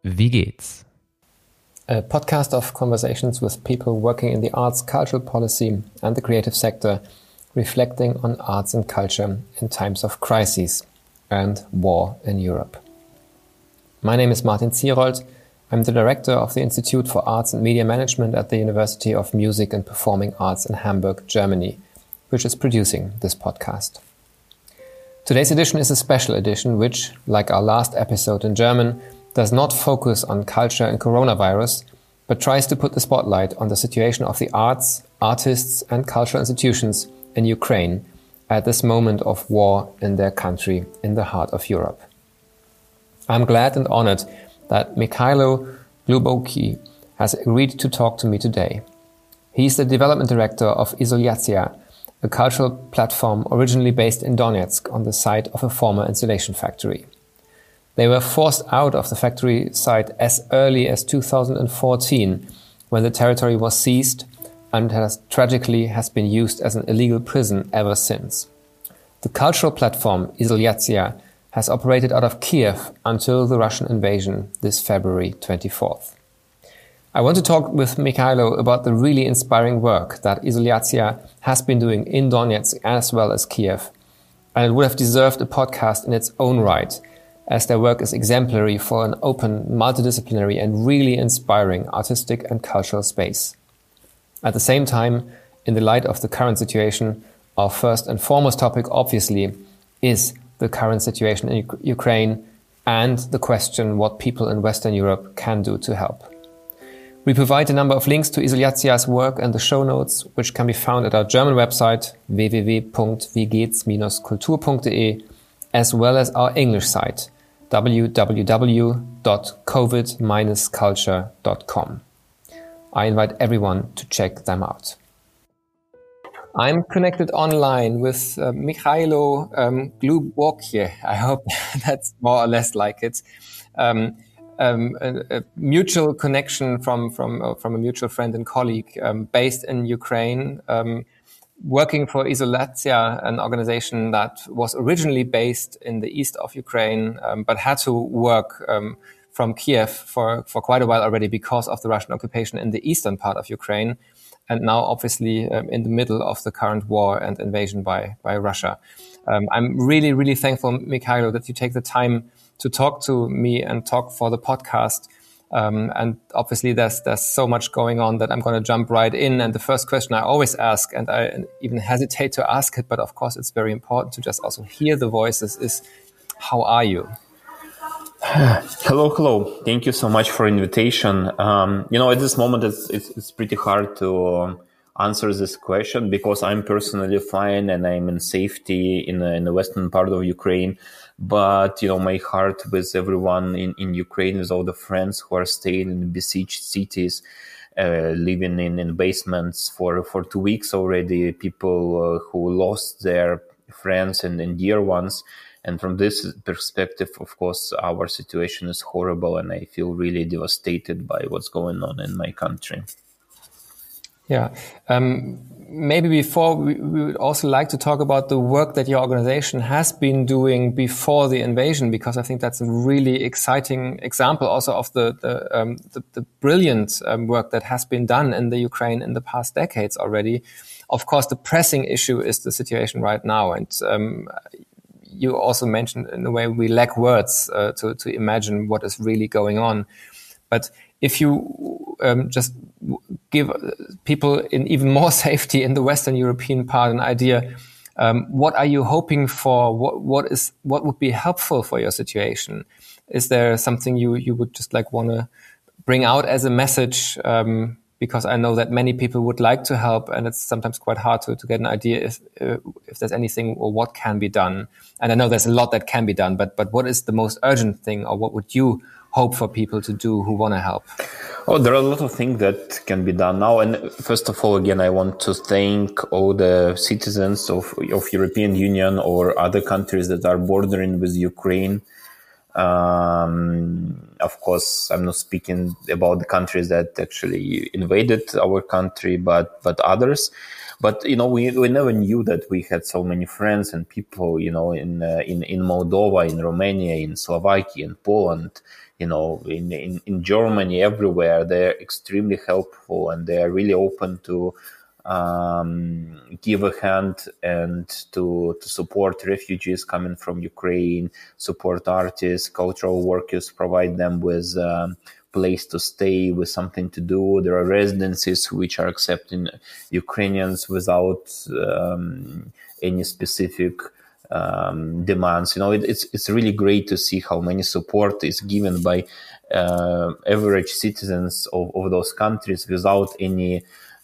Wie geht's? A podcast of conversations with people working in the arts, cultural policy and the creative sector, reflecting on arts and culture in times of crises and war in Europe. My name is Martin Zierold. I'm the director of the Institute for Arts and Media Management at the University of Music and Performing Arts in Hamburg, Germany, which is producing this podcast. Today's edition is a special edition which, like our last episode in German, does not focus on culture and coronavirus, but tries to put the spotlight on the situation of the arts, artists and cultural institutions in Ukraine at this moment of war in their country in the heart of Europe. I'm glad and honored that Mikhailo Gluboki has agreed to talk to me today. He's the development director of Izolyatsiya, a cultural platform originally based in Donetsk on the site of a former insulation factory. They were forced out of the factory site as early as 2014, when the territory was seized and tragically has been used as an illegal prison ever since. The cultural platform Izolyatsiya has operated out of Kiev until the Russian invasion this February 24th. I want to talk with Mikhailo about the really inspiring work that Izolyatsiya has been doing in Donetsk as well as Kiev, and it would have deserved a podcast in its own right, as their work is exemplary for an open, multidisciplinary and really inspiring artistic and cultural space. At the same time, in the light of the current situation, our first and foremost topic obviously is the current situation in Ukraine and the question what people in Western Europe can do to help. We provide a number of links to Izolyatsiya's work and the show notes, which can be found at our German website www.wiegehts-kultur.de, as well as our English site www.covid-culture.com. I invite everyone to check them out. I'm connected online with Mikhailo Gluboki. I hope that's more or less like it. A mutual connection from a mutual friend and colleague based in Ukraine, working for Izolyatsiya, an organization that was originally based in the east of Ukraine, but had to work from Kiev for quite a while already because of the Russian occupation in the eastern part of Ukraine, and now obviously in the middle of the current war and invasion by Russia. I'm really, really thankful, Mikhailo, that you take the time to talk to me and talk for the podcast. And obviously there's so much going on that I'm going to jump right in. And the first question I always ask, and I even hesitate to ask it, but of course it's very important to just also hear the voices, is how are you? Hello. Thank you so much for invitation. At this moment it's pretty hard to answer this question because I'm personally fine and I'm in safety in the western part of Ukraine. But, my heart with everyone in Ukraine, with all the friends who are staying in besieged cities, living in basements for 2 weeks already, people who lost their friends and dear ones. And from this perspective, of course, our situation is horrible and I feel really devastated by what's going on in my country. Yeah. Maybe before we would also like to talk about the work that your organization has been doing before the invasion, because I think that's a really exciting example also of the brilliant work that has been done in the Ukraine in the past decades already. Of course, the pressing issue is the situation right now. And you also mentioned in a way we lack words to imagine what is really going on. But if you just give people in even more safety in the Western European part an idea, what are you hoping for? What would be helpful for your situation? Is there something you would just want to bring out as a message? Because I know that many people would like to help, and it's sometimes quite hard to get an idea if there's anything or what can be done. And I know there's a lot that can be done, but what is the most urgent thing, or what would you hope for people to do who want to help? Oh, there are a lot of things that can be done now. And first of all, again, I want to thank all the citizens of European Union or other countries that are bordering with Ukraine. Of course, I'm not speaking about the countries that actually invaded our country, but others. But we never knew that we had so many friends and people, in Moldova, in Romania, in Slovakia, in Poland, in Germany, everywhere. They're extremely helpful, and they are really open to give a hand and to support refugees coming from Ukraine, support artists, cultural workers, provide them with place to stay, with something to do. There are residencies which are accepting Ukrainians without any specific demands. It's really great to see how many support is given by average citizens of those countries without any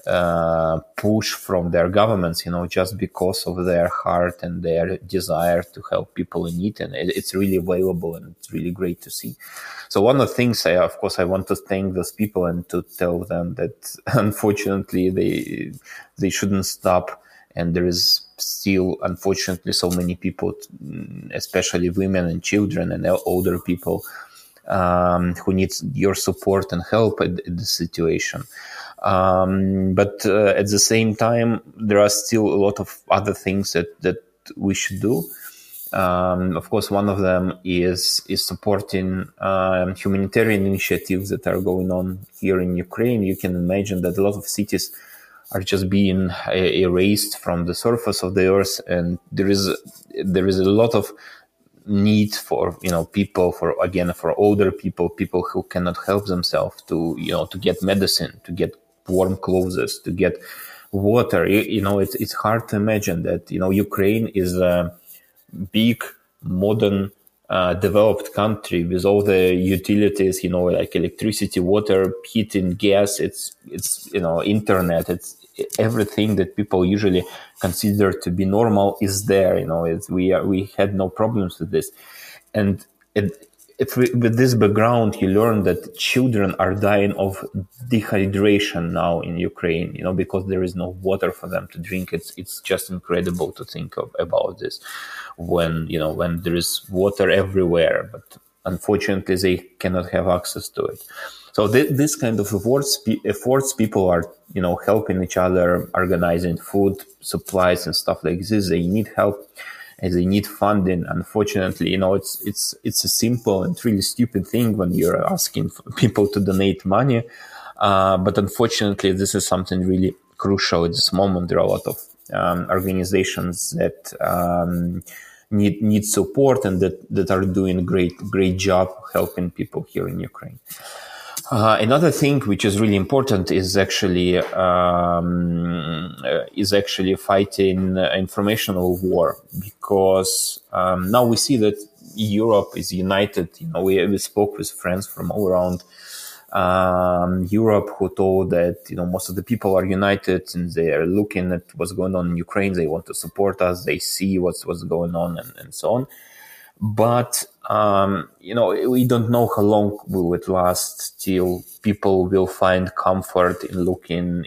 push from their governments, just because of their heart and their desire to help people in need. And it's really valuable, and it's really great to see. So one of the things, I want to thank those people and to tell them that unfortunately they shouldn't stop. And there is still, unfortunately, so many people, especially women and children and older people, who need your support and help in this situation. But at the same time, there are still a lot of other things that we should do. Of course, one of them is supporting humanitarian initiatives that are going on here in Ukraine. You can imagine that a lot of cities are just being erased from the surface of the earth, and there is a lot of need for people, for older people who cannot help themselves, to get medicine, to get warm clothes, to get water. It's hard to imagine that Ukraine is a big, modern, developed country with all the utilities, like electricity, water, heating, gas. It's internet. It's everything that people usually consider to be normal is there. We had no problems with this, and with this background, you learn that children are dying of dehydration now in Ukraine, because there is no water for them to drink. It's just incredible to think about this when there is water everywhere, but unfortunately they cannot have access to it. So this kind of efforts, people are, helping each other, organizing food supplies and stuff like this. They need help. And they need funding. Unfortunately, it's a simple and really stupid thing when you're asking for people to donate money. But unfortunately, this is something really crucial at this moment. There are a lot of organizations that need support and that are doing a great job helping people here in Ukraine. Another thing which is really important is actually fighting informational war, because now we see that Europe is united. We spoke with friends from all around Europe who told that most of the people are united and they are looking at what's going on in Ukraine. They want to support us. They see what's going on and so on. But we don't know how long will it last till people will find comfort in looking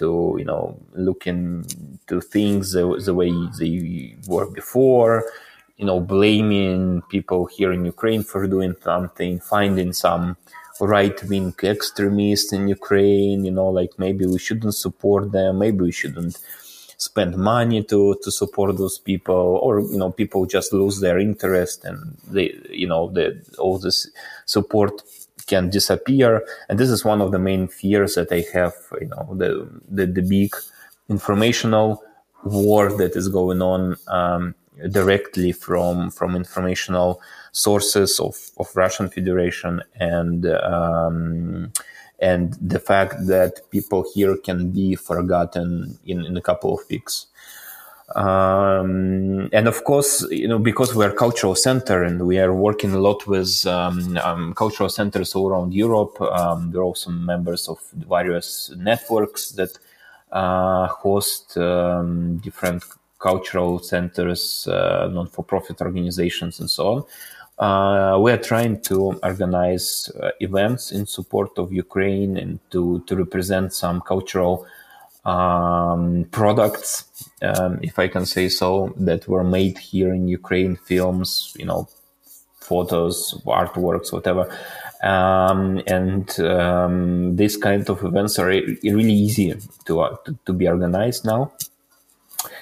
to things the way they were before, blaming people here in Ukraine for doing something, finding some right-wing extremists in Ukraine, like maybe we shouldn't support them, maybe we shouldn't spend money to support those people, or people just lose their interest and all this support can disappear. And this is one of the main fears that I have, the big informational war that is going on directly from informational sources of Russian Federation, and the fact that people here can be forgotten in a couple of weeks. And of course, because we are a cultural center and we are working a lot with cultural centers all around Europe, we're also members of various networks that host different cultural centers, non-for-profit organizations, and so on. We are trying to organize events in support of Ukraine and to represent some cultural products, if I can say so, that were made here in Ukraine, films, photos, artworks, whatever. These kind of events are really easy to be organized now.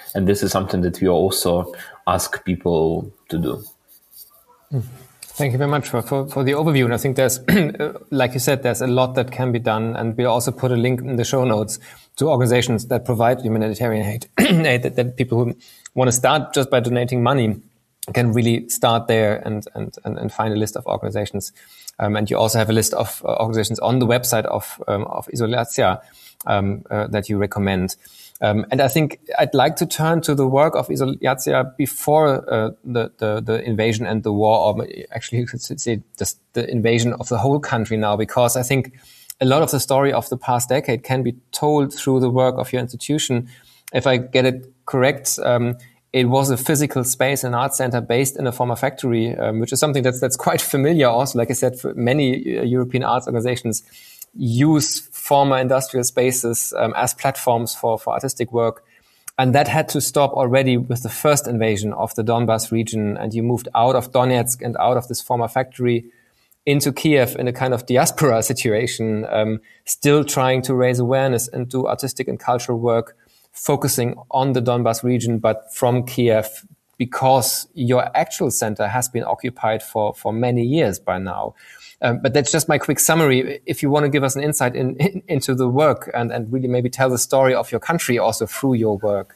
And this is something that we also ask people to do. Thank you very much for the overview. And I think there's, like you said, there's a lot that can be done. And we'll also put a link in the show notes to organizations that provide humanitarian aid, that people who want to start just by donating money can really start there and find a list of organizations. And you also have a list of organizations on the website of Izolatia that you recommend. And I think I'd like to turn to the work of Izolatia before the invasion and the war, or actually you could say just the invasion of the whole country now, because I think a lot of the story of the past decade can be told through the work of your institution. If I get it correct, it was a physical space, an art center based in a former factory, which is something that's quite familiar also. Like I said, for many European arts organizations use former industrial spaces as platforms for artistic work. And that had to stop already with the first invasion of the Donbas region. And you moved out of Donetsk and out of this former factory into Kiev in a kind of diaspora situation, still trying to raise awareness and do artistic and cultural work, focusing on the Donbas region, but from Kiev, because your actual center has been occupied for many years by now. But that's just my quick summary. If you want to give us an insight into the work and really maybe tell the story of your country also through your work.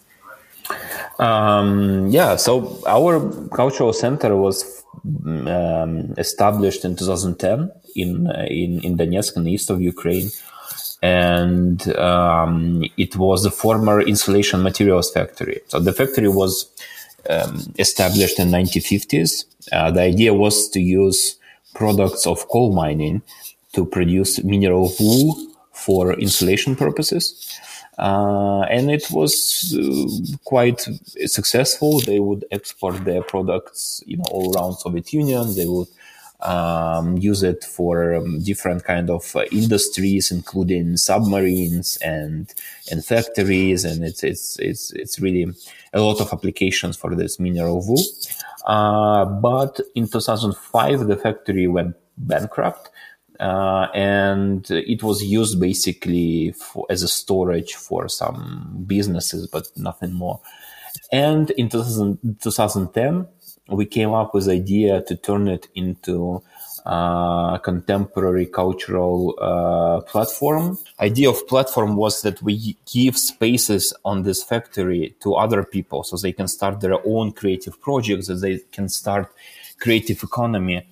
So our cultural center was established in 2010 in Donetsk, in the east of Ukraine. And it was the former insulation materials factory. So the factory was established in 1950s. The idea was to use products of coal mining to produce mineral wool for insulation purposes. And it was quite successful. They would export their products, all around Soviet Union. They would use it for different kind of industries, including submarines and factories, and it's really a lot of applications for this mineral wool. But in 2005, the factory went bankrupt, and it was used basically as a storage for some businesses, but nothing more. And in 2010, we came up with the idea to turn it into contemporary cultural platform. Idea of platform was that we give spaces on this factory to other people so they can start their own creative projects, that they can start creative economy.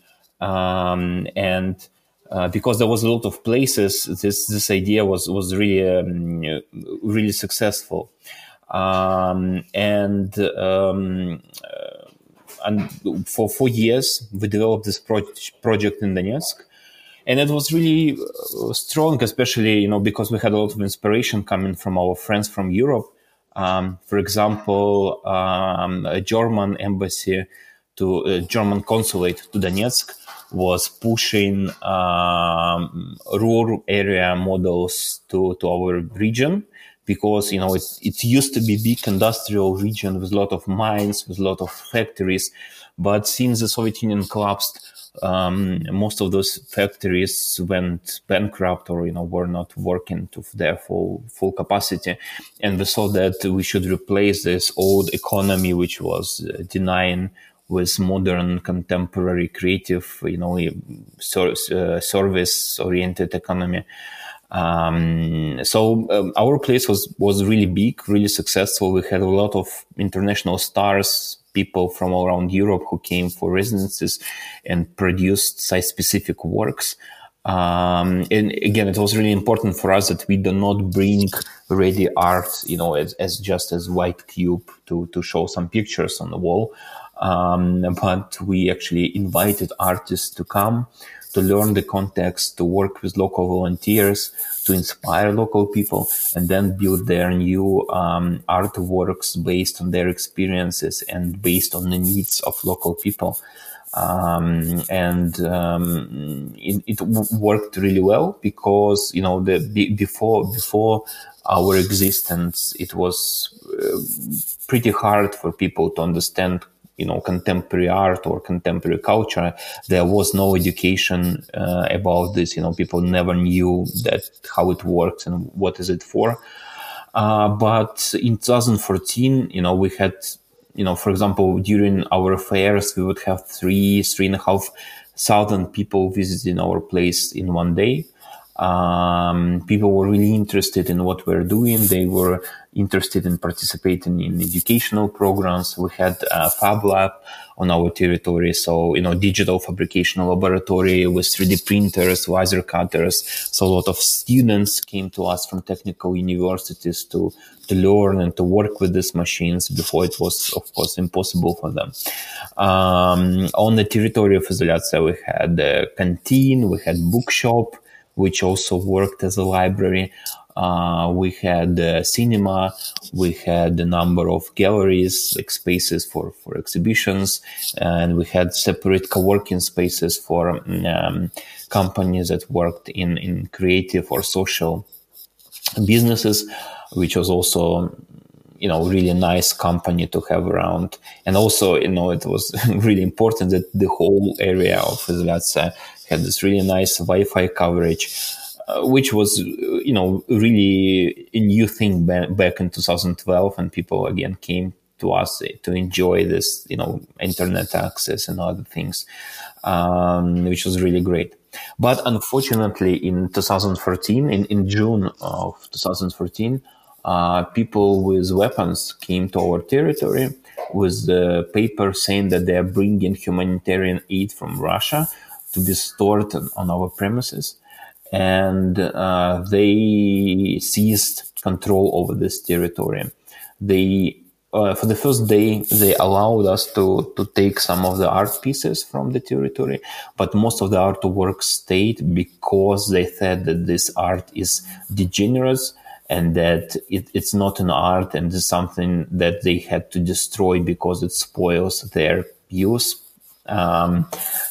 Because there was a lot of places, this idea was really really successful. And for 4 years, we developed this project in Donetsk. And it was really strong, especially, because we had a lot of inspiration coming from our friends from Europe. For example, a German embassy a German consulate to Donetsk was pushing rural area models to our region. Because, it used to be a big industrial region with a lot of mines, with a lot of factories. But since the Soviet Union collapsed, most of those factories went bankrupt or, were not working to their full capacity. And we saw that we should replace this old economy, which was denying, with modern, contemporary, creative, service-oriented economy. Our place was really big, really successful. We had a lot of international stars, people from all around Europe who came for residencies and produced site-specific works. And again, it was really important for us that we do not bring ready art, as just as white cube to show some pictures on the wall. But we actually invited artists to come, to learn the context, to work with local volunteers, to inspire local people, and then build their new artworks based on their experiences and based on the needs of local people. It worked really well because, before our existence, it was pretty hard for people to understand contemporary art or contemporary culture. There was no education about this. People never knew how it works and what is it for. But in 2014, we had, for example, during our fairs, we would have 3,500 people visiting our place in one day. People were really interested in what we're doing. They were interested in participating in educational programs. We had a Fab Lab on our territory. So, digital fabrication laboratory with 3D printers, laser cutters. So a lot of students came to us from technical universities to learn and to work with these machines before it was, of course, impossible for them. On the territory of Izolyatsiya, we had a canteen, we had bookshop, which also worked as a library. We had a cinema. We had a number of galleries, like spaces for exhibitions. And we had separate co-working spaces for companies that worked in creative or social businesses, which was also, really nice company to have around. And also, it was really important that the whole area of Izolyatsiya had this really nice Wi-Fi coverage, which was, really a new thing back in 2012. And people again came to us to enjoy this, internet access and other things, which was really great. But unfortunately, in 2014, in June of 2014, people with weapons came to our territory with the paper saying that they are bringing humanitarian aid from Russia to be stored on our premises. And they seized control over this territory. For the first day, they allowed us to take some of the art pieces from the territory, but most of the artwork stayed because they said that this art is degenerate and that it's not an art and it's something that they had to destroy because it spoils their use. There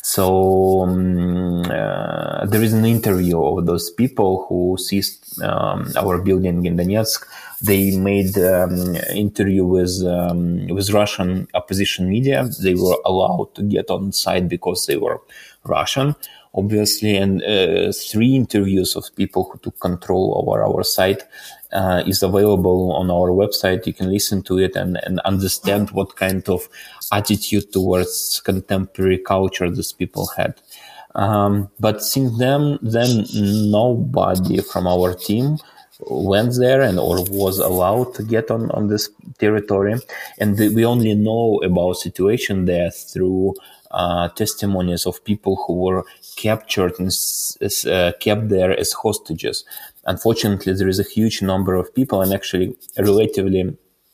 is an interview of those people who seized our building in Donetsk. They made interview with Russian opposition media. They were allowed to get on site because they were Russian, obviously. And 3 interviews of people who took control over our site is available on our website. You can listen to it and understand what kind of attitude towards contemporary culture these people had. But since then nobody from our team went there or was allowed to get on this territory. And we only know about situation there through testimonies of people who were captured and kept there as hostages. Unfortunately, there is a huge number of people, and actually relatively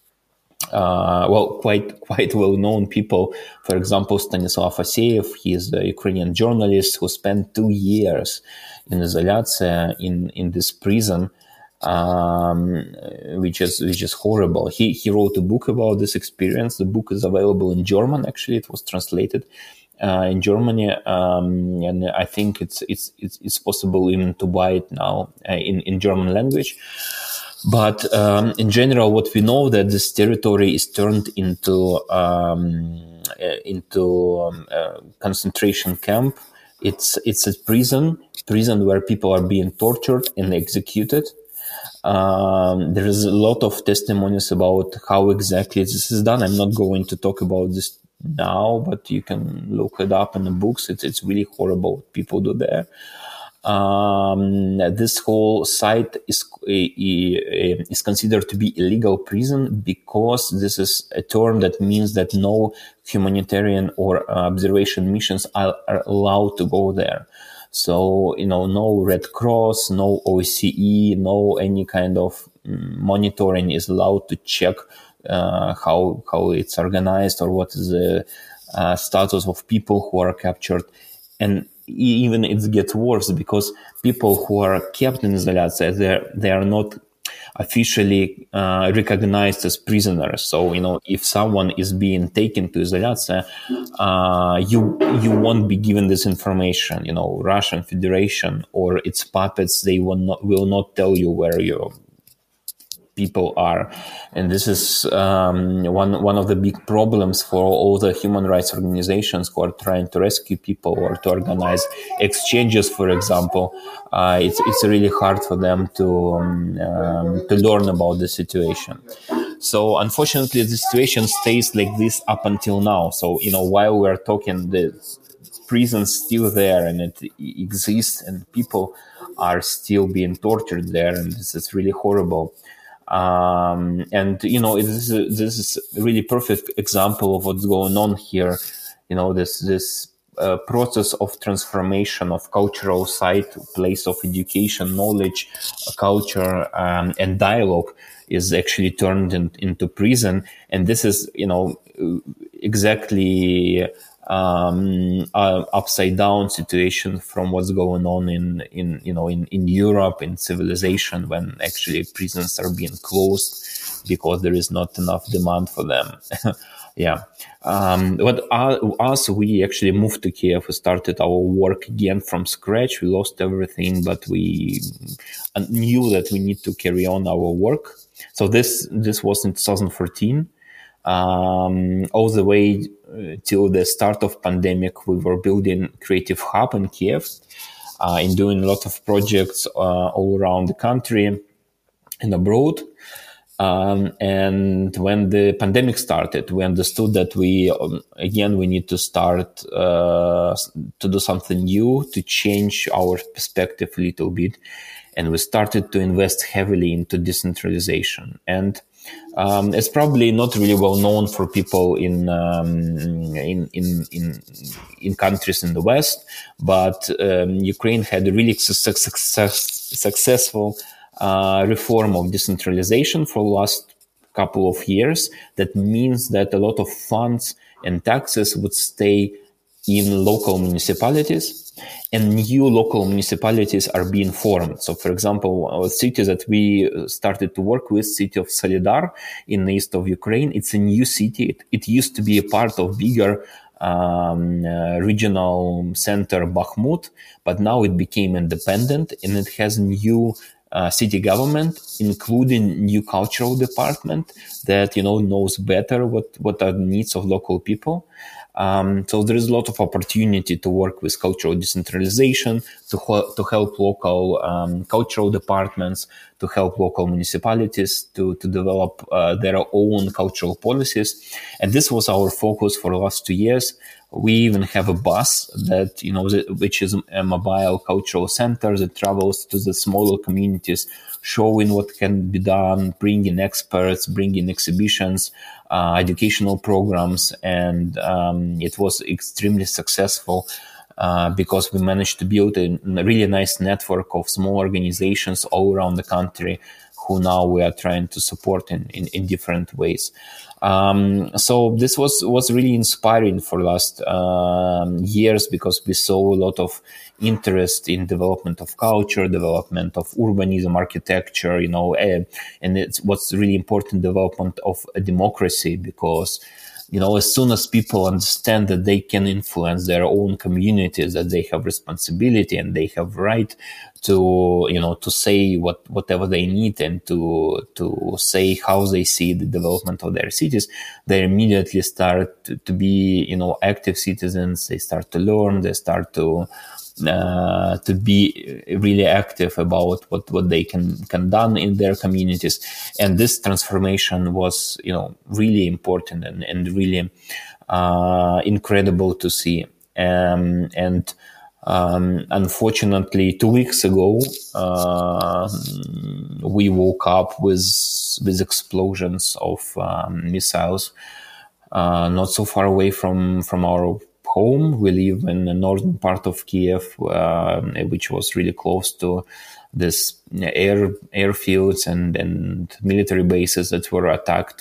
quite well-known people. For example, Stanislav Aseyev, he is a Ukrainian journalist who spent 2 years in Izolyatsiya in this prison, which is horrible. He wrote a book about this experience. The book is available in German. Actually, it was translated in Germany, and I think it's possible even to buy it now in German language. But in general, what we know that this territory is turned into concentration camp. It's a prison where people are being tortured and executed. There is a lot of testimonies about how exactly this is done. I'm not going to talk about this now, but you can look it up in the books. It's really horrible what people do there. This whole site is considered to be illegal prison because this is a term that means that no humanitarian or observation missions are allowed to go there. So, no Red Cross, no OSCE, no any kind of monitoring is allowed to check how it's organized or what is the status of people who are captured. And even it gets worse because people who are kept in Izolyatsiya, they are not officially recognized as prisoners. So, if someone is being taken to Izolyatsiya, you won't be given this information. Russian Federation or its puppets, they will not tell you where people are. And this is one of the big problems for all the human rights organizations who are trying to rescue people or to organize exchanges, for example. It's really hard for them to learn about the situation. So unfortunately, the situation stays like this up until now. So, while we're talking, the prison's still there and it exists, and people are still being tortured there, and this is really horrible. This is a really perfect example of what's going on here. This process of transformation of cultural site, place of education, knowledge, culture, and dialogue is actually turned into prison. And this is, exactly upside down situation from what's going on in Europe, in civilization, when actually prisons are being closed because there is not enough demand for them. Yeah. We actually moved to Kiev. We started our work again from scratch. We lost everything, but we knew that we need to carry on our work. So this was in 2014. All the way till the start of pandemic, we were building Creative Hub in Kiev, and doing a lot of projects all around the country and abroad. And when the pandemic started, we understood that we need to start to do something new, to change our perspective a little bit. And we started to invest heavily into decentralization. And it's probably not really well known for people in countries in the West, but Ukraine had a really successful reform of decentralization for the last couple of years. That means that a lot of funds and taxes would stay in local municipalities, and new local municipalities are being formed. So, for example, a city that we started to work with, city of Solidar in the east of Ukraine, it's a new city. It used to be a part of bigger regional center Bakhmut, but now it became independent, and it has new city government, including new cultural department that knows better what are the needs of local people. So there is a lot of opportunity to work with cultural decentralization, to help local cultural departments, to help local municipalities to develop their own cultural policies. And this was our focus for the last 2 years. We even have a bus that, which is a mobile cultural center that travels to the smaller communities, showing what can be done, bringing experts, bringing exhibitions, educational programs. And it was extremely successful because we managed to build a really nice network of small organizations all around the country who now we are trying to support in different ways. So this was really inspiring for the last years, because we saw a lot of interest in development of culture, development of urbanism, architecture, and it's what's really important, development of a democracy, because as soon as people understand that they can influence their own communities, that they have responsibility and they have right to, to say whatever they need and to say how they see the development of their cities, they immediately start to be, active citizens. They start to learn. They start to be really active about what they can done in their communities. And this transformation was, really important and really incredible to see. Unfortunately, 2 weeks ago, we woke up with explosions of missiles not so far away from our home. We live in the northern part of Kiev, which was really close to this airfields and military bases that were attacked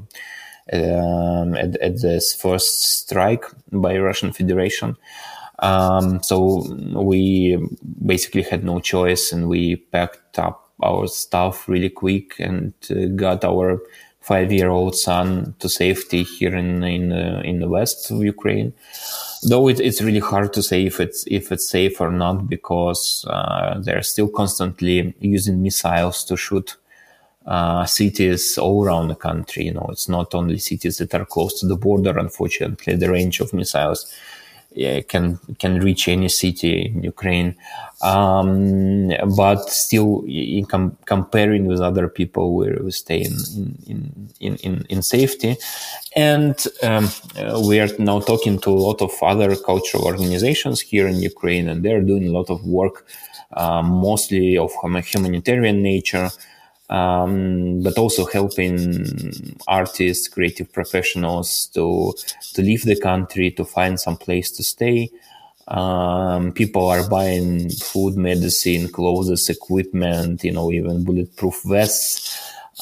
at this first strike by Russian Federation. So we basically had no choice, and we packed up our stuff really quick and got our 5-year-old son to safety here in the west of Ukraine. Though it's really hard to say if it's safe or not, because they're still constantly using missiles to shoot cities all around the country. It's not only cities that are close to the border. Unfortunately, the range of missiles can reach any city in Ukraine. But still, in comparing with other people, we stay in safety. And we are now talking to a lot of other cultural organizations here in Ukraine, and they're doing a lot of work, mostly of humanitarian nature, but also helping artists, creative professionals to leave the country, to find some place to stay. People are buying food, medicine, clothes, equipment, even bulletproof vests.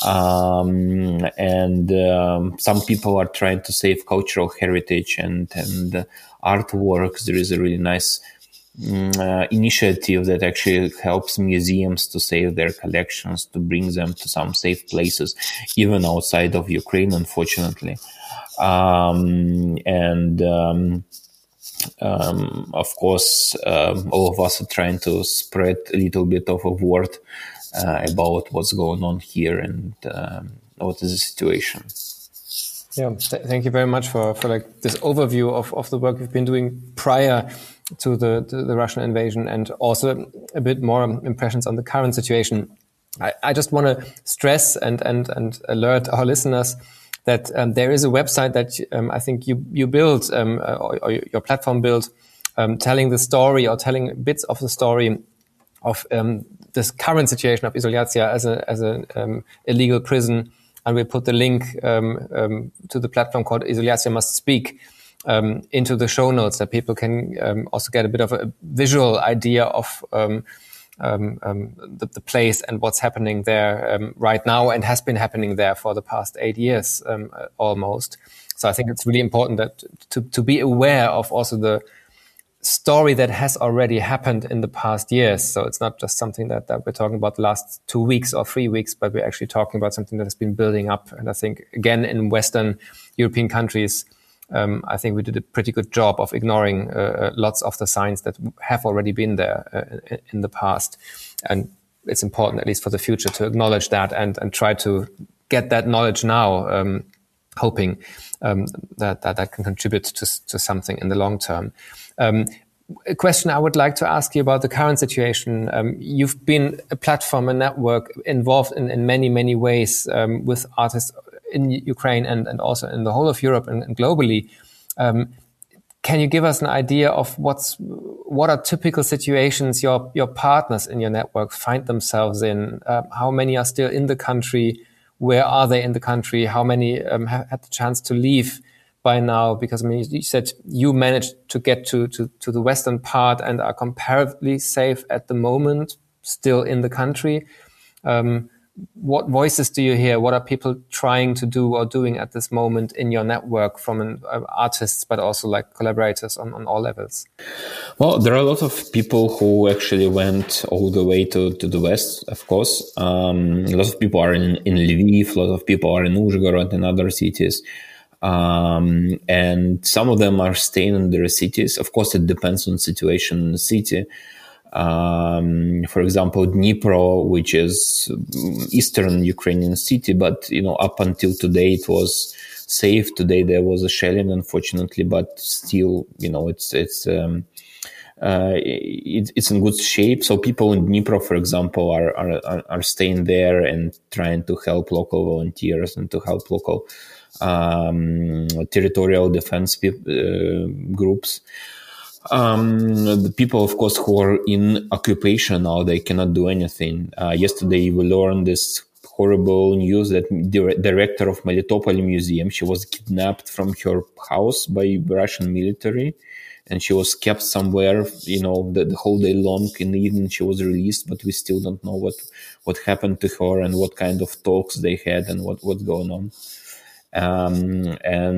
And some people are trying to save cultural heritage and artworks. There is a really nice initiative that actually helps museums to save their collections, to bring them to some safe places, even outside of Ukraine, unfortunately. Of course, all of us are trying to spread a little bit of a word about what's going on here and what is the situation. Yeah, thank you very much for this overview of the work you've been doing prior to the Russian invasion, and also a bit more impressions on the current situation. I just want to stress and alert our listeners that there is a website that I think you built or your platform built, telling the story or telling bits of the story of this current situation of Izolyatsiya as a illegal prison. And we put the link to the platform called Izolyatsiya Must Speak into the show notes, that people can also get a bit of a visual idea of the place and what's happening there right now, and has been happening there for the past 8 years almost. So I think it's really important that to be aware of also the story that has already happened in the past years. So it's not just something that we're talking about the last 2 weeks or 3 weeks, but we're actually talking about something that has been building up. And I think, again, in Western European countries, I think we did a pretty good job of ignoring lots of the signs that have already been there in the past. And it's important, at least for the future, to acknowledge that and try to get that knowledge now, hoping that can contribute to something in the long term. A question I would like to ask you about the current situation. You've been a platform, a network involved in many, many ways with artists in Ukraine and also in the whole of Europe and globally. Can you give us an idea of what are typical situations your partners in your network find themselves in? How many are still in the country? Where are they in the country? How many have had the chance to leave by now? Because I mean, you said you managed to get to the western part and are comparatively safe at the moment, still in the country. What voices do you hear? What are people trying to do or doing at this moment in your network from artists, but also like collaborators on all levels? Well, there are a lot of people who actually went all the way to the west, of course. A lot of people are in Lviv, a lot of people are in Uzhhorod and other cities. And some of them are staying in their cities. Of course, it depends on the situation in the city. For example, Dnipro, which is eastern Ukrainian city, but up until today it was safe. Today there was a shelling, unfortunately, but still, it's in good shape. So people in Dnipro, for example, are staying there and trying to help local volunteers and to help local territorial defense groups. The people, of course, who are in occupation now, they cannot do anything. Yesterday, we learned this horrible news that the director of Melitopol Museum, she was kidnapped from her house by Russian military, and she was kept somewhere, the whole day long. In the evening, she was released, but we still don't know what happened to her and what kind of talks they had and what's going on. And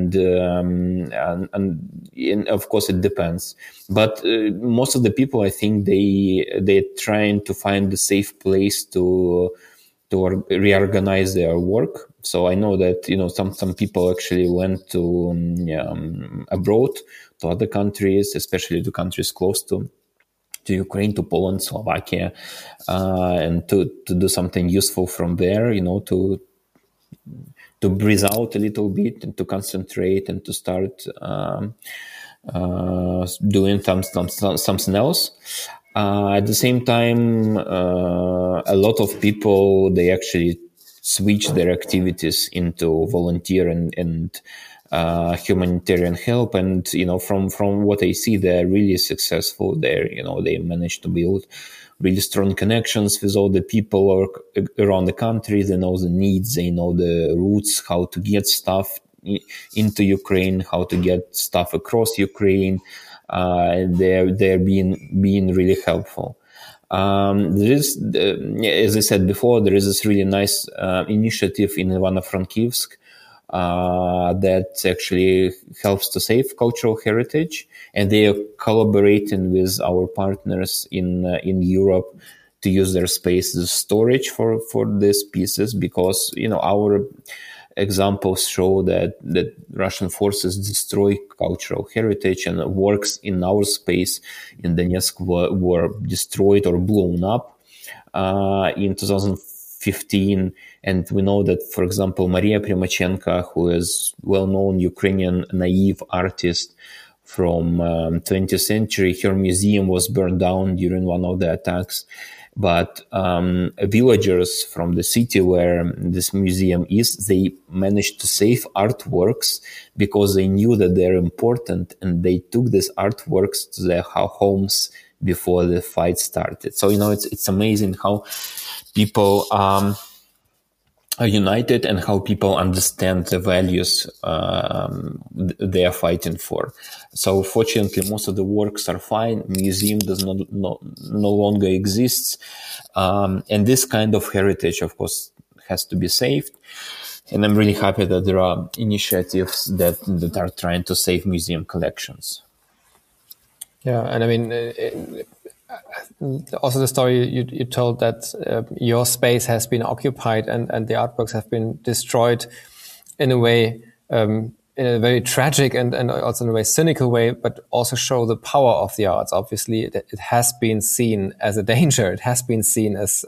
of course it depends, but most of the people, I think they're trying to find a safe place to reorganize their work. So I know that some people actually went to abroad, to other countries, especially to countries close to to Ukraine, to Poland, Slovakia, and to do something useful from there, to breathe out a little bit and to concentrate and to start doing something else. At the same time, a lot of people, they actually switch their activities into volunteer and humanitarian help. And, from what I see, they're really successful there. They managed to build really strong connections with all the people around the country. They know the needs, they know the routes, how to get stuff into Ukraine, how to get stuff across Ukraine. They're being really helpful. There is, as I said before, there is this really nice initiative in Ivano-Frankivsk that actually helps to save cultural heritage, and they are collaborating with our partners in Europe to use their space as storage for these pieces, because our examples show that Russian forces destroy cultural heritage, and works in our space in Donetsk were destroyed or blown up in 2015. And we know that, for example, Maria Primachenko, who is well-known Ukrainian naive artist from 20th century, her museum was burned down during one of the attacks. But villagers from the city where this museum is, they managed to save artworks because they knew that they're important, and they took these artworks to their homes before the fight started. So, it's amazing how people are united and how people understand the values they are fighting for. So fortunately, most of the works are fine. Museum does no longer exists. And this kind of heritage, of course, has to be saved. And I'm really happy that there are initiatives that are trying to save museum collections. Yeah, and I mean, also the story you told that your space has been occupied and the artworks have been destroyed in a way, in a very tragic and also in a very cynical way, but also show the power of the arts. Obviously, it has been seen as a danger. It has been seen as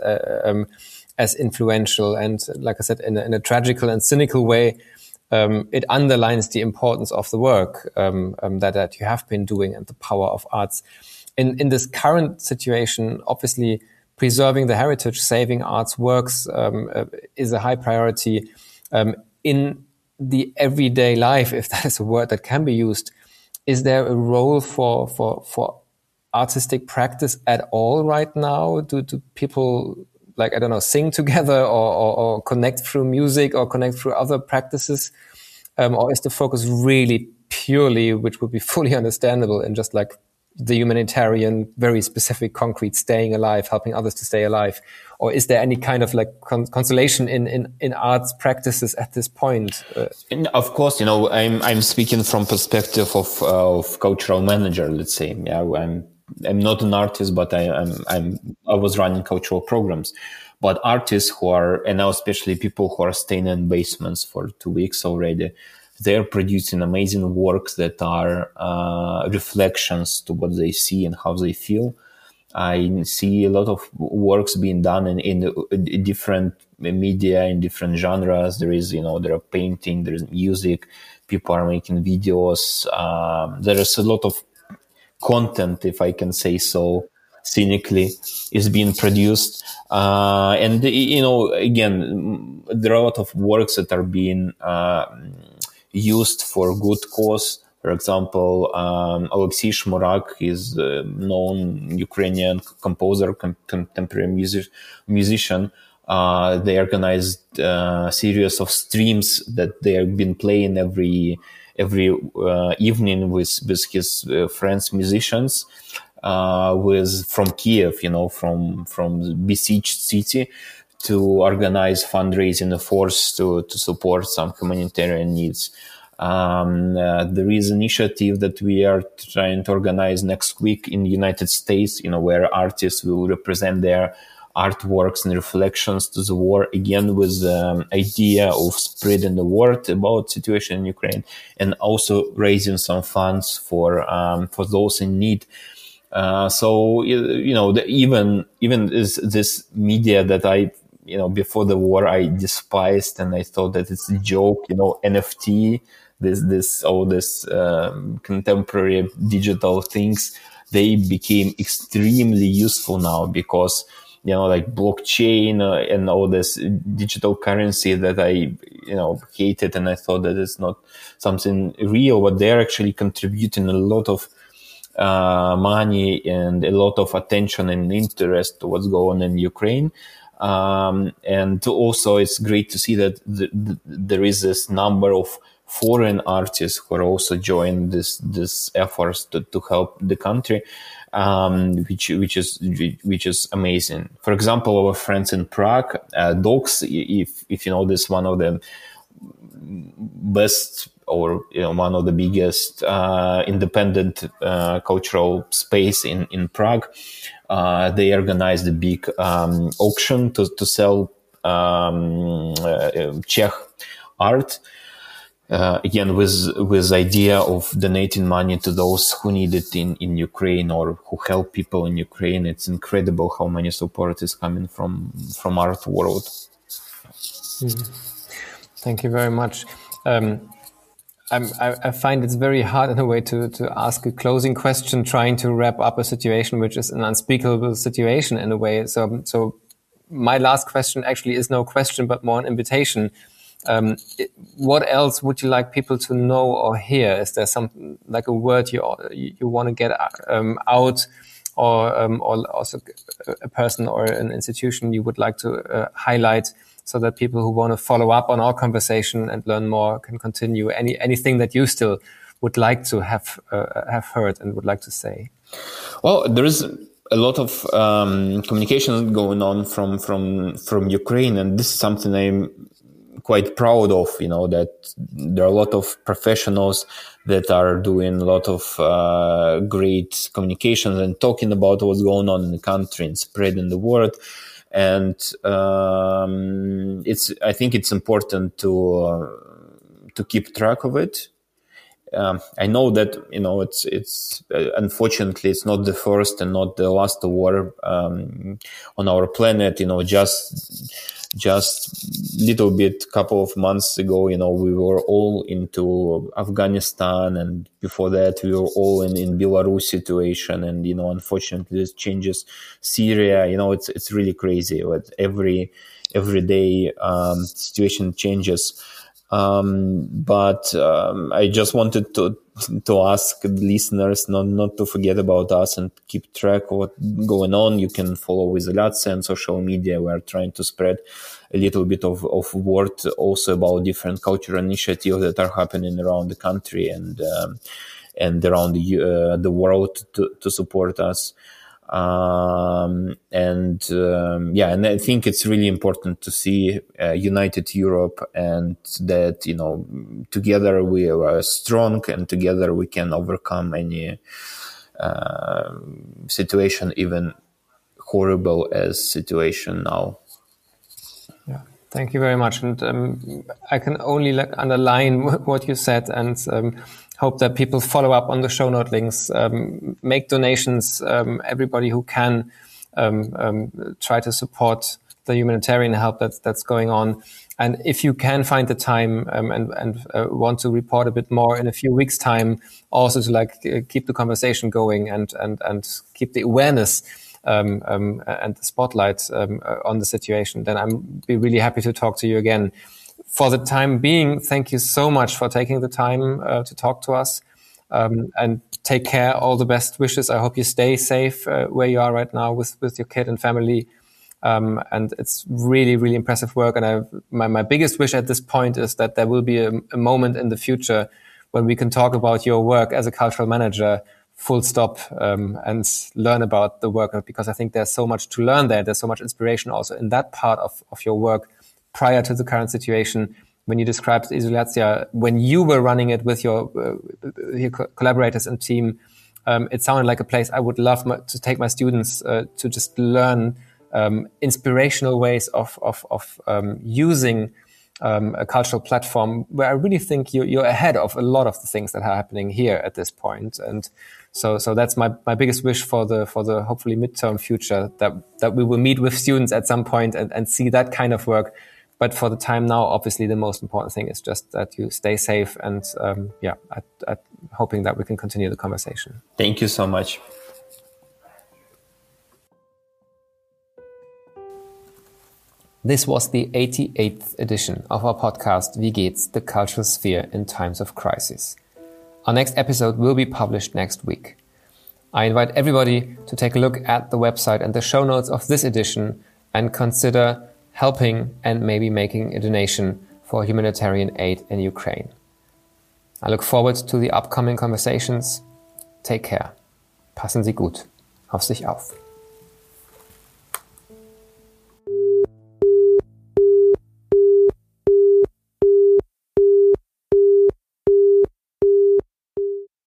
influential, and like I said, in a tragical and cynical way. It underlines the importance of the work that you have been doing and the power of arts. In this current situation, obviously, preserving the heritage, saving arts works is a high priority. In the everyday life, if that is a word that can be used, is there a role for artistic practice at all right now? Do people, like, I don't know, sing together or connect through music or connect through other practices? Or is the focus really purely, which would be fully understandable, in just like the humanitarian, very specific, concrete, staying alive, helping others to stay alive? Or is there any kind of like consolation in arts practices at this point? Of course, I'm speaking from perspective of cultural manager, let's say. Yeah, I'm not an artist, but I was running cultural programs. But artists who are, and now especially people who are staying in basements for 2 weeks already, they're producing amazing works that are reflections to what they see and how they feel. I see a lot of works being done in different media, in different genres. There are painting, there is music, people are making videos. There is a lot of content, if I can say so, cynically, is being produced. And, again, there are a lot of works that are being used for good cause. For example, Alexei Shmurak is a known Ukrainian composer, contemporary musician. They organized a series of streams that they have been playing every evening with his friends, musicians, from Kiev, from the besieged city, to organize fundraising efforts to support some humanitarian needs. There is an initiative that we are trying to organize next week in the United States, where artists will represent their artworks and reflections to the war, again with the idea of spreading the word about the situation in Ukraine and also raising some funds for those in need. So even is this media that I before the war I despised, and I thought that it's a joke, NFT, this contemporary digital things, they became extremely useful now, because like blockchain and all this digital currency that I hated, and I thought that it's not something real, but they're actually contributing a lot of money and a lot of attention and interest to what's going on in Ukraine. And also it's great to see that there is this number of foreign artists who are also joining this efforts to help the country, which is amazing. For example, our friends in Prague, Docs, if you know this, one of the best or one of the biggest independent cultural space in Prague. They organized a big auction to sell Czech art. Again, with idea of donating money to those who need it in Ukraine or who help people in Ukraine. It's incredible how many support is coming from art world. Thank you very much. I find it's very hard in a way to ask a closing question, trying to wrap up a situation which is an unspeakable situation in a way. So my last question actually is no question, but more an invitation. What else would you like people to know or hear? Is there something like a word you want to get out, or also a person or an institution you would like to highlight, so that people who want to follow up on our conversation and learn more can continue? Anything that you still would like to have heard and would like to say? Well, there is a lot of communication going on from Ukraine, and this is something I'm quite proud of. That there are a lot of professionals that are doing a lot of great communications and talking about what's going on in the country and spreading the word. And I think it's important to keep track of it. I know that it's unfortunately it's not the first and not the last war on our planet. Just little bit, couple of months ago, we were all into Afghanistan, and before that we were all in Belarus situation, and unfortunately this changes Syria. It's really crazy. But every day situation changes. But I just wanted to ask the listeners not to forget about us and keep track of what's going on. You can follow Izolyatsia on social media. We are trying to spread a little bit of word also about different cultural initiatives that are happening around the country and around the world to support us. And I think it's really important to see united Europe, and that together we are strong, and together we can overcome any situation, even horrible as situation now. Yeah, thank you very much, and I can only underline what you said, and hope that people follow up on the show note links, make donations, everybody who can try to support the humanitarian help that's going on. And if you can find the time and want to report a bit more in a few weeks' time, also to keep the conversation going and keep the awareness and the spotlight on the situation, then I'd be really happy to talk to you again. For the time being, thank you so much for taking the time to talk to us, and take care. All the best wishes. I hope you stay safe where you are right now with your kid and family. And it's really, really impressive work. And my biggest wish at this point is that there will be a moment in the future when we can talk about your work as a cultural manager, full stop, and learn about the work, because I think there's so much to learn there. There's so much inspiration also in that part of your work prior to the current situation. When you described Izolyatsia, when you were running it with your collaborators and team, it sounded like a place I would love to take my students to just learn inspirational ways of using a cultural platform where I really think you're ahead of a lot of the things that are happening here at this point. And so that's my biggest wish for the hopefully midterm future, that we will meet with students at some point and see that kind of work. But for the time now, obviously the most important thing is just that you stay safe, and hoping that we can continue the conversation. Thank you so much. This was the 88th edition of our podcast, Wie geht's? The Cultural Sphere in Times of Crisis. Our next episode will be published next week. I invite everybody to take a look at the website and the show notes of this edition and consider helping and maybe making a donation for humanitarian aid in Ukraine. I look forward to the upcoming conversations. Take care. Passen Sie gut auf sich auf.